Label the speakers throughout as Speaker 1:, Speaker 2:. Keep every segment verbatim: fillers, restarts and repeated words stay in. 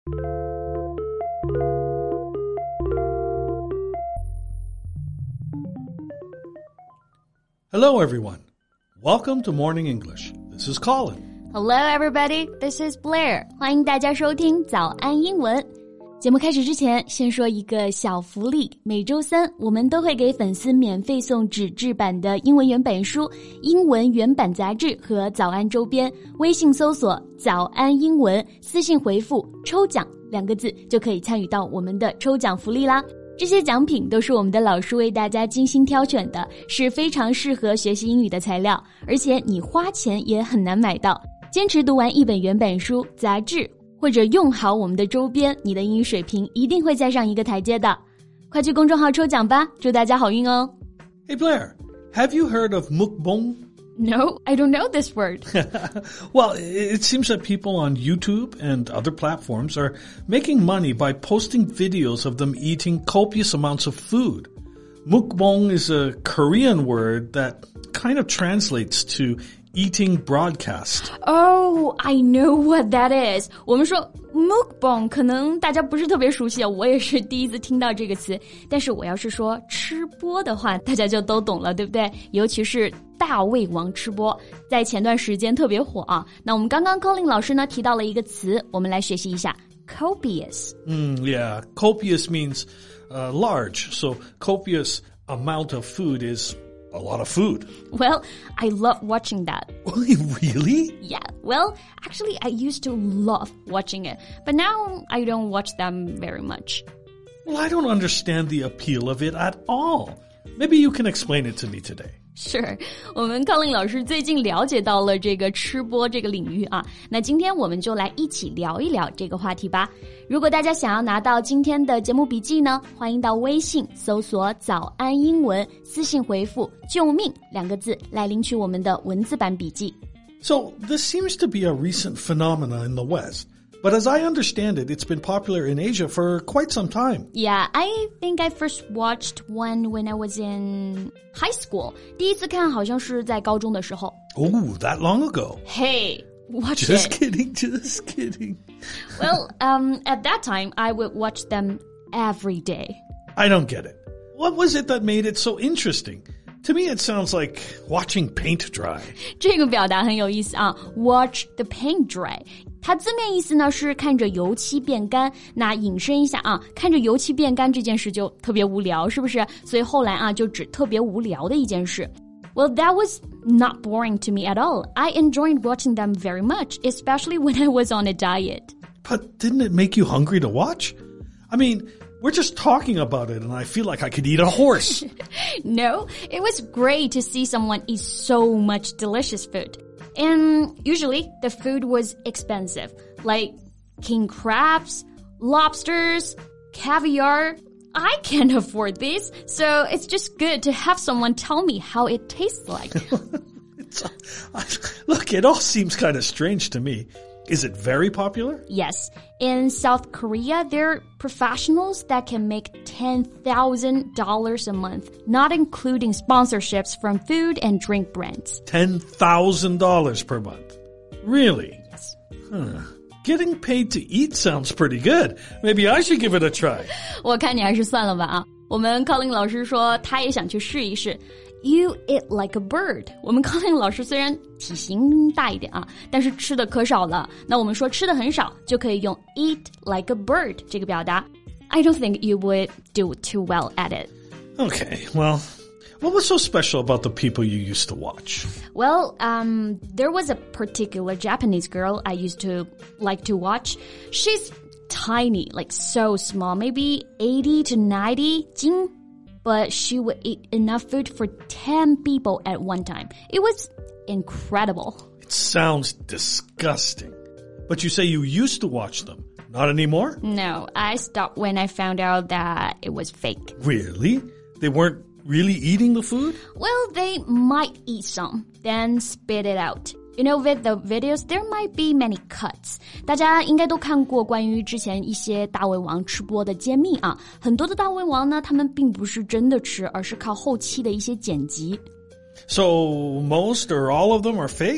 Speaker 1: Hello, everyone. Welcome to Morning English. This is Colin.
Speaker 2: Hello, everybody. This is Blair. 欢迎大家收听早安英文。节目开始之前，先说一个小福利。每周三，我们都会给粉丝免费送纸质版的英文原本书、英文原版杂志和早安周边。微信搜索“早安英文”，私信回复“抽奖”两个字，就可以参与到我们的抽奖福利啦。这些奖品都是我们的老师为大家精心挑选的，是非常适合学习英语的材料，而且你花钱也很难买到。坚持读完一本原本书、杂志，或者用好我们的周边，你的英语水平一定会再上一个台阶的。快去公众号抽奖吧，祝大家好运哦。
Speaker 1: Hey, Blair, have you heard of mukbang?No,
Speaker 2: I don't know this word.
Speaker 1: Well, it seems that people on YouTube and other platforms are making money by posting videos of them eating copious amounts of food. Mukbang is a Korean word that kind of translates to eating broadcast.
Speaker 2: Oh, I know what that is. 我们说 mukbang 可能大家不是特别熟悉，我也是第一次听到这个词。但是我要是说吃播的话，大家就都懂了，对不对？尤其是大胃王吃播，在前段时间特别火啊。那我们刚刚 Colin 老师呢提到了一个词，我们来学习一下 copious.
Speaker 1: Mm, yeah, copious means uh, large. So copious amount of food is a lot of food.
Speaker 2: Well, I love watching that.
Speaker 1: Really?
Speaker 2: Yeah. Well, actually, I used to love watching it, but now I don't watch them very much.
Speaker 1: Well, I don't understand the appeal of it at all. Maybe you can explain it to me today.
Speaker 2: Sure. 我们 Colin 老师最近了解到了这个吃播这个领域啊，那今天我们就来一起聊一聊这个话题吧。如果大家想要拿到今天的节目笔记呢，欢迎到微信搜索早安英文，私信回复救命两个字来领取我们的文字版笔记。
Speaker 1: So this seems to be a recent phenomena in the West. But as I understand it, it's been popular in Asia for quite some time.
Speaker 2: Yeah, I think I first watched one when I was in high school. 第一次看好像是在高中的时候。
Speaker 1: Oh, that long ago.
Speaker 2: Hey, watch
Speaker 1: Just
Speaker 2: it.
Speaker 1: kidding, just kidding.
Speaker 2: Well, um, at that time, I would watch them every day.
Speaker 1: I don't get it. What was it that made it so interesting? To me, it sounds like watching paint dry.
Speaker 2: 这个表达很有意思啊 ，watch the paint dry。它字面意思呢是看着油漆变干，那引申一下啊，看着油漆变干这件事就特别无聊，是不是？所以后来啊就指特别无聊的一件事。Well, that was not boring to me at all. I enjoyed watching them very much, especially when I was on a diet.
Speaker 1: But didn't it make you hungry to watch? I mean, we're just talking about it and I feel like I could eat a horse.
Speaker 2: No, it was great to see someone eat so much delicious food. And usually the food was expensive, like king crabs, lobsters, caviar. I can't afford these, so it's just good to have someone tell me how it tastes like.
Speaker 1: it's, uh, look, it all seems kind of strange to me. Is it very popular?
Speaker 2: Yes. In South Korea, there are professionals that can make ten thousand dollars a month, not including sponsorships from food and drink brands.
Speaker 1: ten thousand dollars per month? Really?
Speaker 2: Yes.
Speaker 1: Huh. Getting paid to eat sounds pretty good. Maybe I should give it a try.
Speaker 2: 我看你还是算了吧啊。我们 Colin 老师说他也想去试一试。You eat like a bird. 我们 Colin 老师虽然体型大一点啊，但是吃的可少了。那我们说吃的很少，就可以用 eat like a bird 这个表达。I don't think you would do too well at it.
Speaker 1: Okay, well, what was so special about the people you used to watch?
Speaker 2: Well, um, there was a particular Japanese girl I used to like to watch. She's tiny, like so small, maybe eighty to ninety 斤。But she would eat enough food for ten people at one time. It was incredible.
Speaker 1: It sounds disgusting. But you say you used to watch them. Not anymore?
Speaker 2: No, I stopped when I found out that it was fake.
Speaker 1: Really? They weren't really eating the food?
Speaker 2: Well, they might eat some, then spit it out. You know, with the videos, there might be many cuts. 大家应该都看过关于之前一些大胃王吃播的揭秘啊。很多的大胃王呢，他们并不是真的吃，而是靠后期的一些剪辑。
Speaker 1: So most or all of them are fake?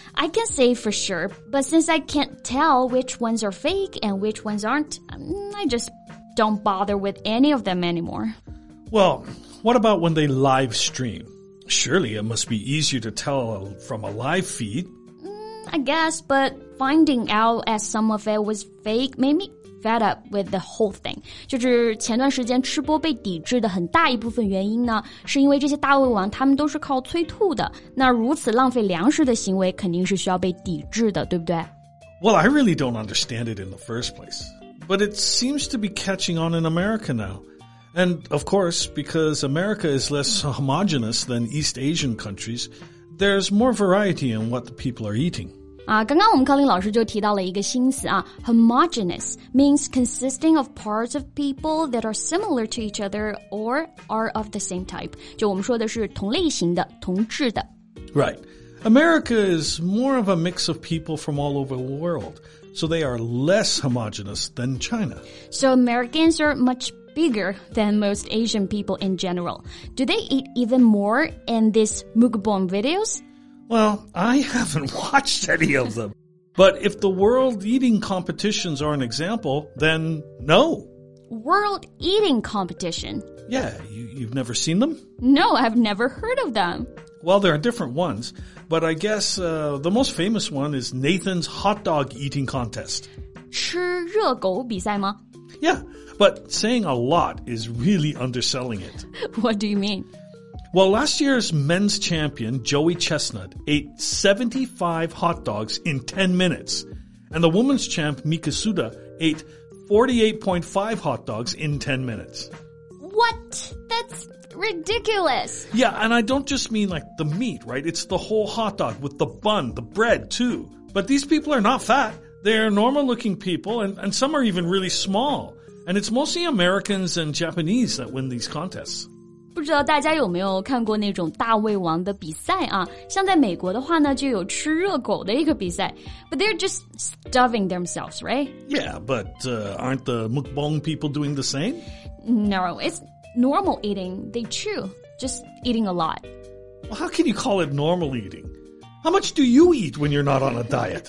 Speaker 2: I can say for sure, but since I can't tell which ones are fake and which ones aren't, I just don't bother with any of them anymore.
Speaker 1: Well, what about when they live stream? Surely it must be easier to tell from a live feed.
Speaker 2: Mm, I guess, but finding out as some of it was fake made me fed up with the whole thing. 就是前段时间吃播被抵制的很大一部分原因呢，是因为这些大胃王他们都是靠催吐的，那如此浪费粮食的行为肯定是需要被抵制的，对不对？
Speaker 1: Well, I really don't understand it in the first place. But it seems to be catching on in America now. And, of course, because America is less homogenous than East Asian countries, there's more variety in what the people are eating.
Speaker 2: 啊，刚刚我们康林老师就提到了一个新词啊 ，homogeneous means consisting of parts of people that are similar to each other or are of the same type. 就我们说的是同类型的、同质的。
Speaker 1: Right. America is more of a mix of people from all over the world, so they are less homogeneous than China.
Speaker 2: So Americans are much bigger than most Asian people in general. Do they eat even more in these mukbang videos?
Speaker 1: Well, I haven't watched any of them. But if the world eating competitions are an example, then no.
Speaker 2: World eating competition?
Speaker 1: Yeah, you, you've never seen them?
Speaker 2: No, I've never heard of them.
Speaker 1: Well, there are different ones, but I guess uh, the most famous one is Nathan's hot dog eating contest.
Speaker 2: 吃热狗比赛吗？
Speaker 1: Yeah, but saying a lot is really underselling it.
Speaker 2: What do you mean?
Speaker 1: Well, last year's men's champion, Joey Chestnut, ate seventy-five hot dogs in ten minutes. And the women's champ, Mika Suda, ate forty-eight point five hot dogs in ten minutes.
Speaker 2: What? That's ridiculous.
Speaker 1: Yeah, and I don't just mean like the meat, right? It's the whole hot dog with the bun, the bread too. But these people are not fat. They're normal-looking people, and, and some are even really small. And it's mostly Americans and Japanese that win these contests.
Speaker 2: 不知道大家有没有看过那种大胃王的比赛啊？像在美国的话呢，就有吃热狗的一个比赛。But they're just stuffing themselves, right?
Speaker 1: Yeah, but uh, aren't the mukbang people doing the same?
Speaker 2: No, it's normal eating. They chew, just eating a lot.
Speaker 1: Well, how can you call it normal eating? How much do you eat when you're not on a diet?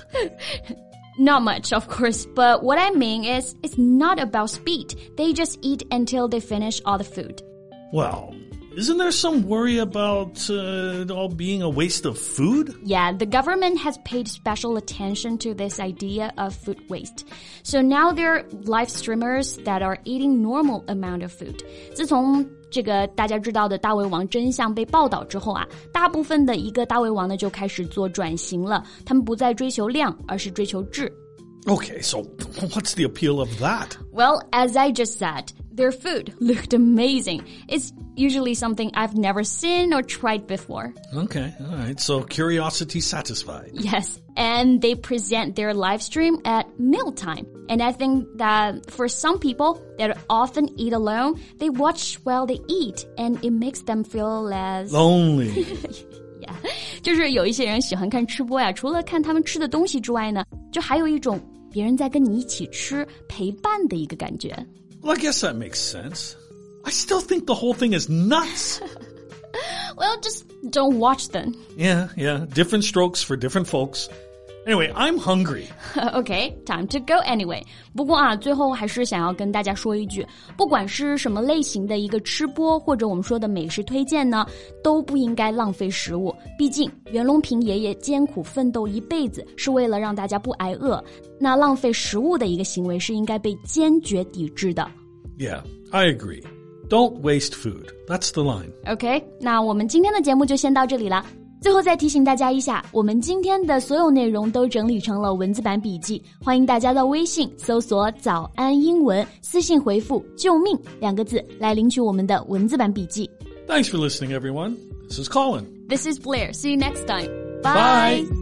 Speaker 2: Not much, of course, but what I mean is it's not about speed. They just eat until they finish all the food.
Speaker 1: Well, isn't there some worry about uh, it all being a waste of food?
Speaker 2: Yeah, the government has paid special attention to this idea of food waste. So now there are live streamers that are eating normal amount of food. 自从这个大家知道的大胃王真相被报道之后啊，大部分的一个大胃王呢就开始做转型了，他们不再追求量，而是追求质。
Speaker 1: Okay, so what's the appeal of that?
Speaker 2: Well, as I just said, their food looked amazing. It's usually something I've never seen or tried before.
Speaker 1: Okay, all right. So curiosity satisfied.
Speaker 2: Yes, and they present their live stream at mealtime. And I think that for some people that often eat alone, they watch while they eat, and it makes them feel less
Speaker 1: lonely.
Speaker 2: Yeah, 就是有一些人喜欢看吃播呀，除了看他们吃的东西之外呢，就还有一种别人在跟你一起吃陪伴的一个感觉。
Speaker 1: Well, I guess that makes sense. I still think the whole thing is nuts.
Speaker 2: Well, just don't watch them.
Speaker 1: Yeah, yeah. Different strokes for different folks. Anyway, I'm hungry.
Speaker 2: Okay, time to go anyway. 不过啊，最后还是想要跟大家说一句，不管是什么类型的一个吃播，或者我们说的美食推荐呢，都不应该浪费食物。毕竟袁隆平爷爷艰苦奋斗一辈子，是为了让大家不挨饿。那浪费食物的一个行为是应该被坚决抵制的。
Speaker 1: Yeah, I agree. Don't waste food. That's the line.
Speaker 2: Okay, 那我们今天的节目就先到这里了。最后再提醒大家一下，我们今天的所有内容都整理成了文字版笔记，欢迎大家到微信搜索早安英文，私信回复救命两个字来领取我们的文字版笔记。
Speaker 1: Thanks for listening, everyone. This is Colin.
Speaker 2: This is Blair. See you next time. Bye.
Speaker 1: Bye.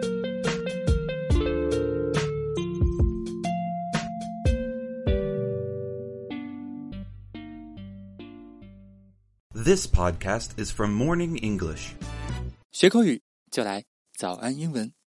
Speaker 3: This podcast is from Morning English.
Speaker 4: 学口语就来早安英文。